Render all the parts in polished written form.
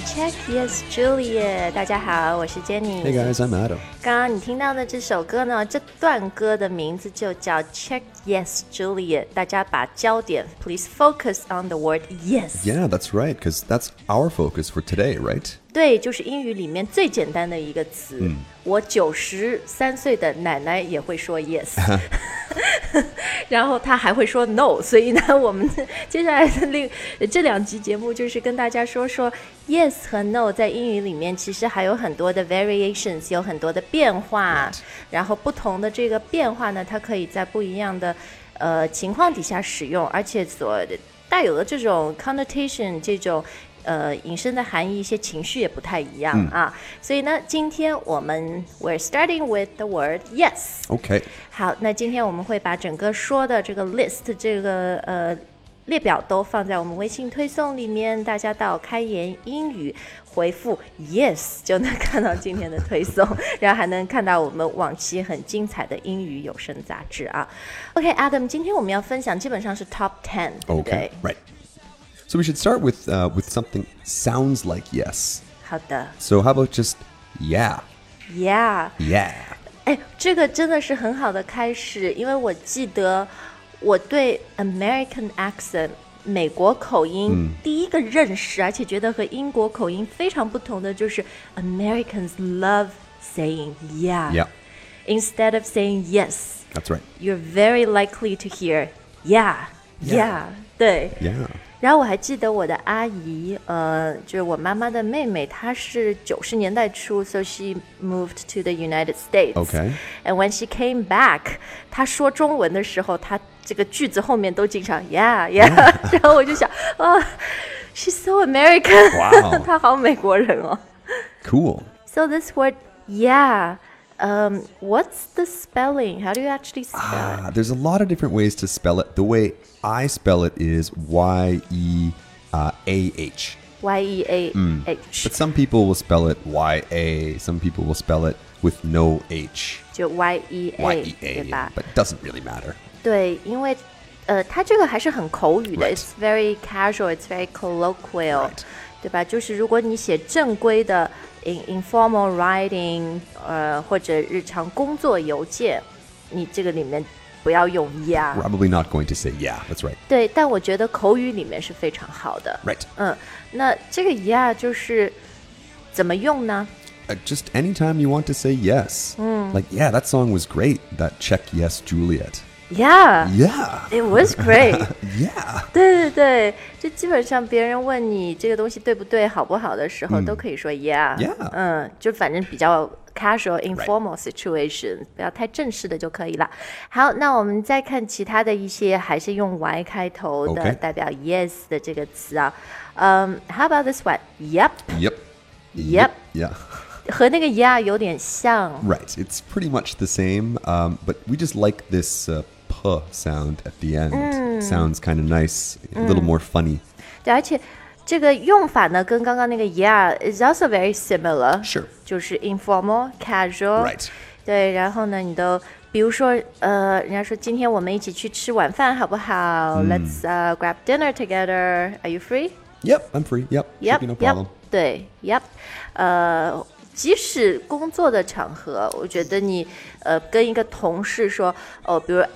Check Yes Juliet， 大家好，我是 Jenny。 Hey guys, I'm Adam. 刚刚你听到的这首歌呢，这段歌的名字就叫 Check Yes Juliet， 大家把焦点 please focus on the word yes. Yeah, that's right, because that's our focus for today, right? 对，就是英语里面最简单的一个词。我93岁的奶奶也会说 yes 然后她还会说 no， 所以呢我们接下来的这2集节目就是跟大家说 yes 和 no 在英语里面其实还有很多的 variations， 有很多的变化，然后不同的这个变化呢，它可以在不一样的情况底下使用，而且所带有的这种 connotation 这种引申的含义，一些情绪也不太一样啊。所以呢，今天我们 we're starting with the word yes. Okay. 好，那今天我们会把整个说的这个 list 这个列表都放在我们微信推送里面，大家到开言英语回复 yes 就能看到今天的推送，然后还能看到我们往期很精彩的英语有声杂志啊。OK Adam， 今天我们要分享基本上是 top 10， 对不对？ Okay, right. So we should start with something sounds like yes. 好的。 So how about just yeah? Yeah. Yeah. 哎，这个真的是很好的开始，因为我记得我对 American accent 美国口音第一个认识，而且觉得和英国口音非常不同的就是 Americans love saying yeah. Yeah. Instead of saying yes, That's right. you're very likely to hear yeah, yeah. 对。 Yeah. 然后我还记得我的阿姨，就是我妈妈的妹妹，她是90年代初 ，so she moved to the United States. Okay. And when she came back， 她说中文的时候，她这个句子后面都经常 yeah yeah， 然后我就想，she's so American， Wow. 她好美国人哦。 Cool. So this word yeah.What's the spelling? How do you actually spell it? There's a lot of different ways to spell it. The way I spell it is Y-E-A-H. Y-E-A-H. But some people will spell it Y-A. Some people will spell it with no H. 就 Y-E-A, 对 Y-E-A. 吧？ But it doesn't really matter. 对，因为它这个还是很口语的 Right. It's very casual, it's very colloquial, Right. 对吧？就是如果你写正规的 informal writing， 或者日常工作邮件，你这个里面不要用 yeah。 Probably not going to say yeah. That's right. 对，但我觉得口语里面是非常好的。 Right. 那这个 yeah 就是怎么用呢？ Just anytime you want to say yes. Like, yeah, that song was great. That Check Yes Juliet. Yeah, Yeah. it was great. Yeah. 对对对，就基本上别人问你这个东西对不对、好不好的时候，都可以说 yeah。 Yeah. 就反正比较 casual, informal situation， 不要太正式的就可以了。好，那我们再看其他的一些还是用 Y 开头的 Okay. 代表 yes 的这个词啊。How about this one? Yep. Yep. Yep. Yeah. 和那个 yeah 有点像。 Right. It's pretty much the same, but we just like this p sound at the end. Sounds kind of nice, a little more funny. 对，而且这个用法呢，跟刚刚那个 yeah is also very similar. Sure. 就是 informal, casual. Right. 对，然后呢，你都比如说，人家说今天我们一起去吃晚饭好不好？Let's grab dinner together. Are you free? Yep, I'm free. Yep. Yep, Should be no yep. problem. 对 ，yep. 即使工作的场合，我觉得你跟一个同事说，比如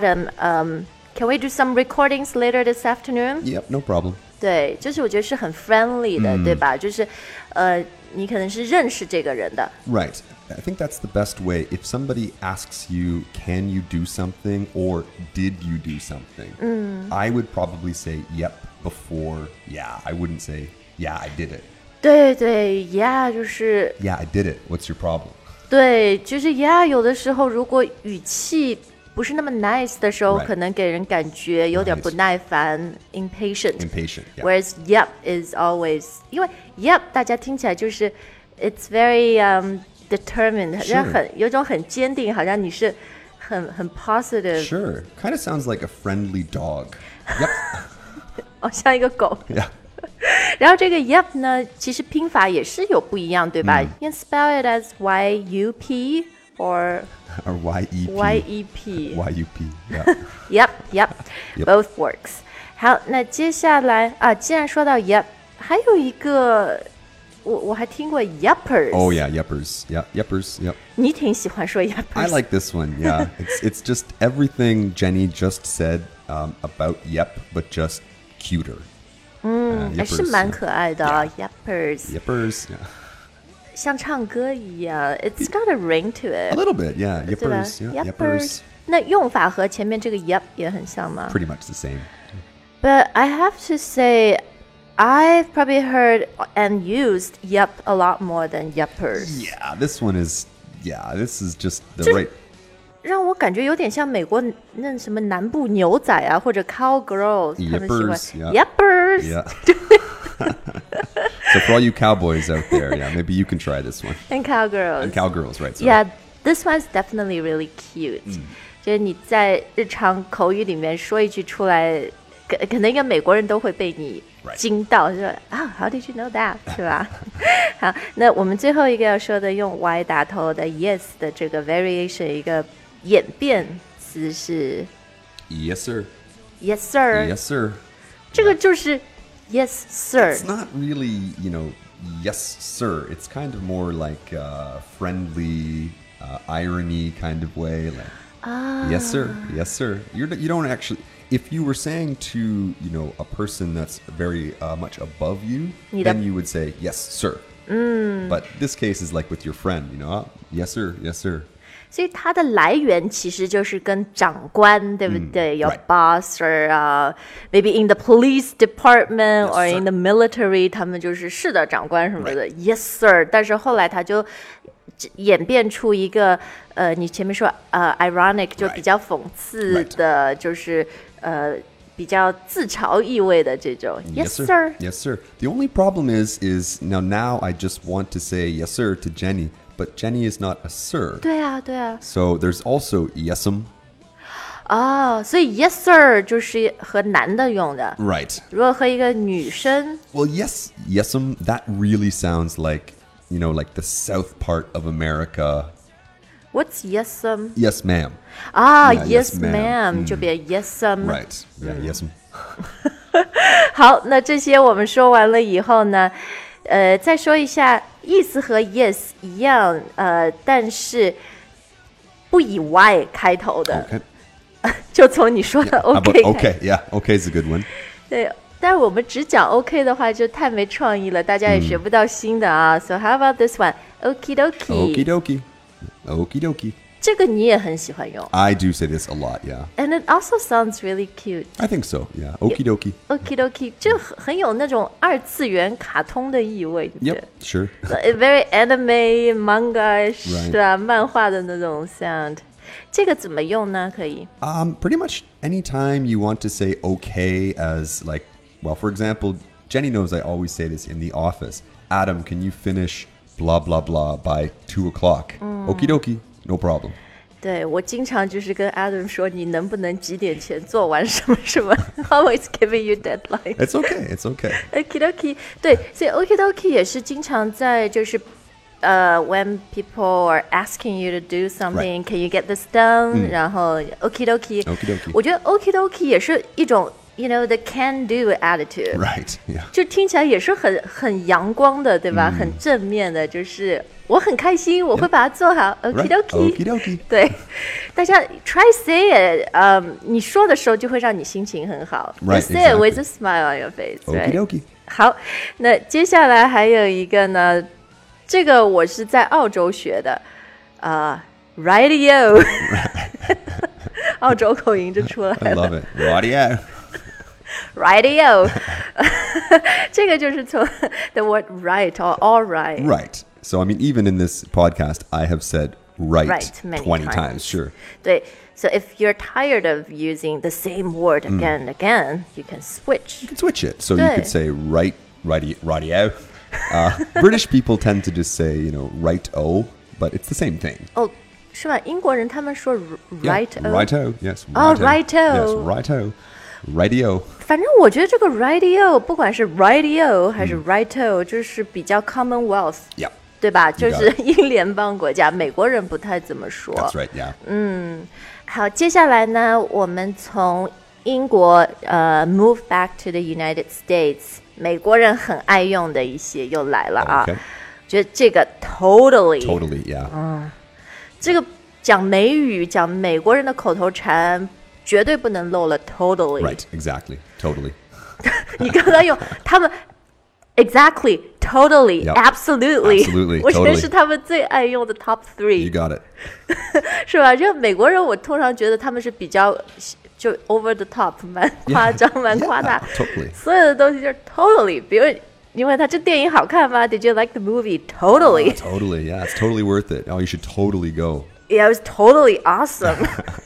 Adam，can we do some recordings later this afternoon? Yep, no problem. 对，就是我觉得是很 friendly 的，对吧？就是你可能是认识这个人的。 Right. I think that's the best way. If somebody asks you, can you do something or did you do something? I would probably say yep before yeah. I wouldn't say yeah, I did it. 对对 ，yeah 就是 Yeah, I did it. What's your problem? 对，就是 yeah 有的时候如果语气不是那么 nice 的时候， Right. 可能给人感觉有点不耐烦 impatient. Impatient. Yeah. Whereas yep is always 因为 yep 大家听起来就是 it's very determined， 好像有种很坚定，好像你是很 positive， Sure. Kind of sounds like a friendly dog. Yep. 像一个狗。 Yeah. 然后这个 yep 呢，其实拼法也是有不一样，对吧？You can spell it as Y-U-P or Or Y-E-P. Y-E-P. Y-U-P. Yeah. Yep, yep, Yep. both works. 好，那接下来啊，既然说到 yep， 还有一个我还听过 yuppers。 Oh yeah, yuppers. Yeah, yuppers. Yep. 你挺喜欢说 yuppers。 I like this one. Yeah, it's just everything Jenny just said about yep, but just cuter. 还是蛮可爱的啊 yuppers。 Yuppers. Yeah. 像唱歌一样 ，It's got a ring to it. A little bit, yeah. 对吧 Yuppers. Yeah, yuppers. 那用法和前面这个 yup 也很像吗 Pretty much the same. ？But I have to say, I've probably heard and used yup a lot more than yuppers. Yeah, this one is. Yeah, this is just the 这 right. 让我感觉有点像美国那什么南部牛仔啊，或者 cowgirls， 他们喜欢 Yuppers, yuppers Yeah. So for all you cowboys out there, yeah, maybe you can try this one. and cowgirls. And cowgirls, right? Sorry. Yeah, this one's definitely really cute. 就是你在日常口语里面说一句出来，可能一个美国人都会被你惊到，就说啊、How did you know that？ 是吧？好，那我们最后一个要说的用 Y 打头的 yes 的这个 variation 一个演变词是 Yes, sir. yes sir， Yes, sir. 这个就是 yes sir。 It's not really, yes, sir. It's kind of more like friendly, irony kind of way. Like, yes, sir. Yes, sir. You don't actually. If you were saying to, a person that's very much above you, then you would say, yes, sir. But this case is like with your friend, yes, sir, yes, sir. 所以它的来源其实就是跟长官，对不对？有 right. boss or maybe in the police department or sir. in the military， 他们就是是的长官什么的 ，yes sir。但是后来他就演变出一个你前面说ironic 就比较讽刺的，就是比较自嘲意味的这种 yes sir. Yes, sir. The only problem is now I just want to say yes, sir to Jenny, but Jenny is not a sir. 对啊，对啊。 So there's also yes'm. 所以 yes sir 就是和男的用的。 Right. 如果和一个女生 Well, yes'm, that really sounds like, like the south part of America. What's yes'm? Yes, ma'am. Yes, yes, ma'am. ma'am. 就变 yes'm. Right. Yeah, yes'm. 好，那这些我们说完了以后呢，再说一下意思和 yes 一样，但是不以 y 开头的， Okay. 就从你说的 How OK about 开 okay? Yeah, okay is a good one. 对，但是我们只讲 OK 的话就太没创意了，大家也学不到新的啊。So how about this one? Okie dokie. Okie dokie. Okie dokie. 这个你也很喜欢用 I do say this a lot, yeah. ，and it also sounds really cute. I think so, yeah. Okie dokie. Okie dokie，这很有那种二次元卡通的意味，对不对 Yep, sure. Very anime manga-ish， Right. 对吧？漫画的那种 sound。这个怎么用呢？可以 Pretty much anytime you want to say okay as like, well, for example, Jenny knows I always say this in the office. Adam, can you finish blah, blah, blah by 2 o'clock? Okie dokie, no problem. 对，我经常就是跟 Adam 说，你能不能几点前做完什么什么？Always giving you deadline. It's okay, it's okay. Okie dokie， 对，所以 okie dokie 也是经常在就是when people are asking you to do something, Right. can you get this done？然后 okie dokie， Okie dokie. 我觉得 okie dokie 也是一种 the can do attitude。 Right, yeah. 就听起来也是很阳光的，对吧？很正面的，就是我很开心，我会把它做好。Okie Right. dokie， Okie dokie. 对，大家 try say it，你说的时候就会让你心情很好。 Right, You say it with exactly. a smile on your face. Okie Right? dokie. 好，那接下来还有一个呢，这个我是在澳洲学的，radio， 澳洲口音就出来 I 了。 love it. Radio. Radio， 这个就是从 the word right or all right。 Right. So, I mean, even in this podcast, I have said right, Right, many 20 times. times, sure. 对 ，so if you're tired of using the same word again and again, you can switch. You can switch it. So you 对 could say radio. British people tend to just say, right-o, but it's the same thing. 哦，是吧？英国人他们说 Yeah, right-o。 Righto, yes. Oh, righto. righto. Yes, righto. Radio. 反正我觉得这个 radio 不管是 radio 还是 righto，就是比较 Commonwealth， Yeah, 对吧？ You 就 got 是英联邦国家，美国人不太怎么说。 that's right, yeah. 好，接下来呢，我们从英国move back to the United States， 美国人很爱用的一些又来了啊。 Okay. 觉得这个 totally， yeah. 这个讲美语讲美国人的口头禅绝对不能漏了 totally。 Right, exactly, totally. 你刚刚用他们 exactly, totally, Yep. absolutely, 我觉得是他们最爱用的 top 3。 You got it. 是吧？就美国人我通常觉得他们是比较就 over the top， 蛮夸张蛮夸大， totally. 所有的东西就是 totally。 比如你问他这电影好看吗？ Did you like the movie? Totally. Totally, yeah, it's totally worth it. Oh, you should totally go. Yeah, it was totally awesome.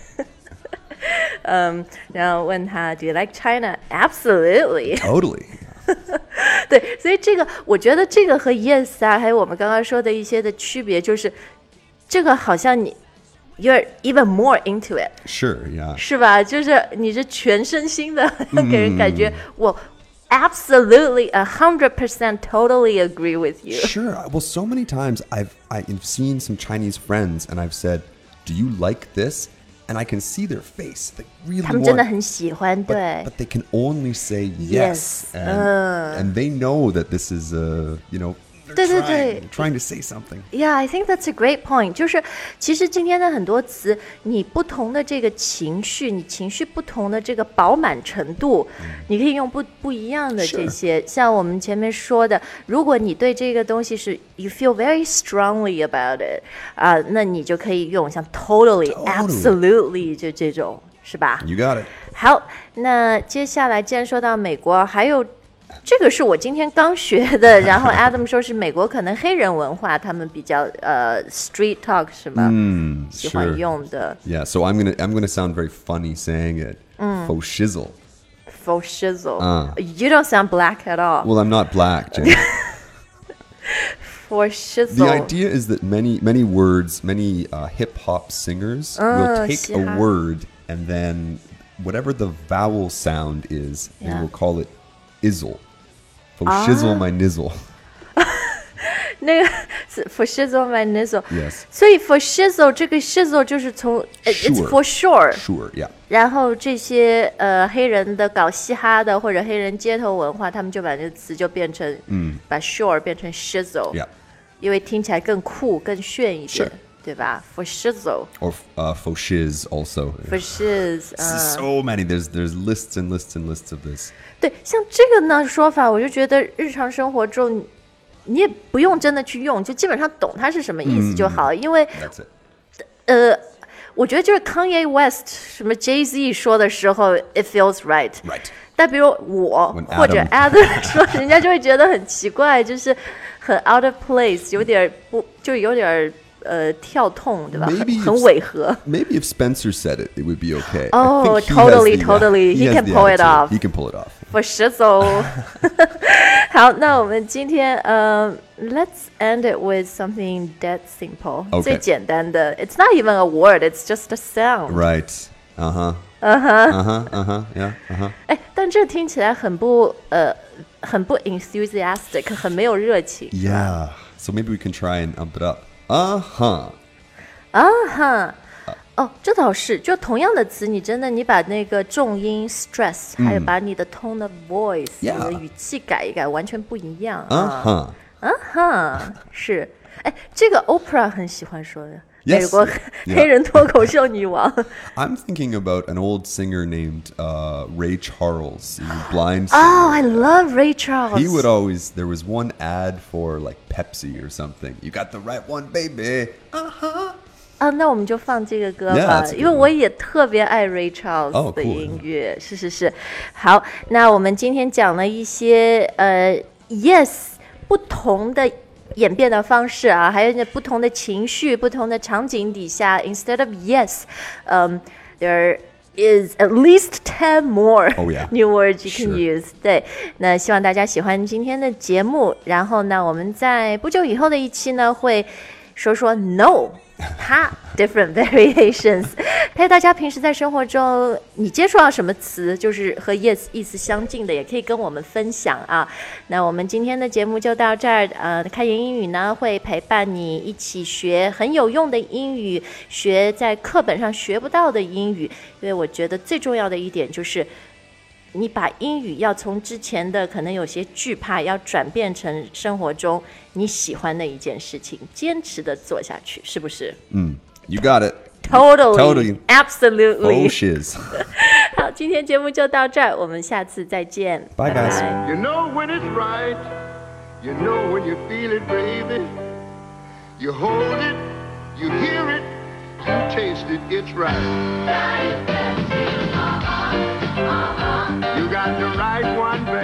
然后问他 Do you like China? Absolutely. Totally. 对，所以这个我觉得这个和 yes 啊，还有我们刚刚说的一些的区别，就是这个好像你 you're even more into it. Sure, yeah. 是吧？就是你是全身心的，给人感觉我 absolutely 100% totally agree with you. Sure. Well, so many times I've seen some Chinese friends and I've said, "Do you like this?" And I can see their face. They really 他们真的 want, 很喜欢，对。 but they can only say yes. And they know that this is they're trying to say something. Yeah, I think that's a great point. 就是其实今天的很多词，你不同的这个情绪，你情绪不同的这个饱满程度，你可以用不一样的这些。像我们前面说的，如果你对这个东西是 you feel very strongly about it 那你就可以用像 totally, absolutely 就这种，是吧？ You got it. 好，那接下来既然说到美国，还有这个是我今天刚学的，然后 Adam 说是美国可能黑人文化他们比较street talk 是吗？喜欢用的。 Yeah, so I'm gonna sound very funny saying it. Faux shizzle. Faux shizzle. You don't sound black at all. Well, I'm not black, Jen. Faux shizzle. The idea is that many words, many hip hop singers will take a word and then whatever the vowel sound is, they will call it izzle. Faux shizzle my nizzle. 那个 for shizzle my nizzle. Yes. 所以 for shizzle 这个 shizzle 就是从 it's for sure. Sure, yeah. 然后这些黑人的搞嘻哈的或者黑人街头文化，他们就把这个词就变成把 sure 变成 shizzle. Yeah. 因为听起来更酷更炫一点，对吧 For shizzle. Or faux shiz also. For shiz. So many. There's lists and lists and lists of this. 对，像这个呢说法，我就觉得日常生活中你也不用真的去用，就基本上懂它是什么意思就好，因为 That's it. 我觉得就是 Kanye West 什么 Jay-Z 说的时候 it feels right. Right. 但比如我 When 或者 Adam 说，人家就会觉得很奇怪，就是很 out of place， 有点跳痛，对吧？很违和。 Maybe if Spencer said it, it would be okay. Oh, totally. He can pull it off. He can pull it off. For shizzle. 好，那我们今天let's end it with something dead simple. 最简单的 It's not even a word, it's just a sound. Right. Yeah. 哎，但这听起来很不 enthusiastic， 很没有热情。 Yeah. So maybe we can try and ump it up. 哦，这倒是，就同样的词，你把那个重音 stress，还有把你的 tone of voice， 你的语气改一改，完全不一样啊。是，哎，这个 Oprah 很喜欢说的。美国黑人脱口秀女王。 I'm thinking about an old singer named Ray Charles. He was blind. Oh, I love Ray Charles. He would always. There was one ad for like Pepsi or something. You got the right one, baby. 那我们就放这个歌吧，因为我也特别爱 Ray Charles 的音乐。是。好，那我们今天讲了一些yes 不同的演变的方式啊，还有不同的情绪、不同的场景底下 ，instead of yes, there is at least 10 more new words you can use. 对，那希望大家喜欢今天的节目。然后呢，我们在不久以后的一期呢，会说 no。它 different variations， 陪大家平时在生活中你接触到什么词就是和 yes 意思相近的，也可以跟我们分享啊。那我们今天的节目就到这儿，开言英语呢会陪伴你一起学很有用的英语，学在课本上学不到的英语，因为我觉得最重要的一点就是你把英语要从之前的可能有些惧怕，要转变成生活中你喜欢的一件事情，坚持的做下去，是不是 You got it. Totally. Absolutely. Oh, shiz. 好，今天节目就到这儿，我们下次再见。 Bye, guys. 拜拜。 You know when it's right. You know when you feel it, baby. You hold it, you hear it, you taste it, it's right. You got the right one, baby.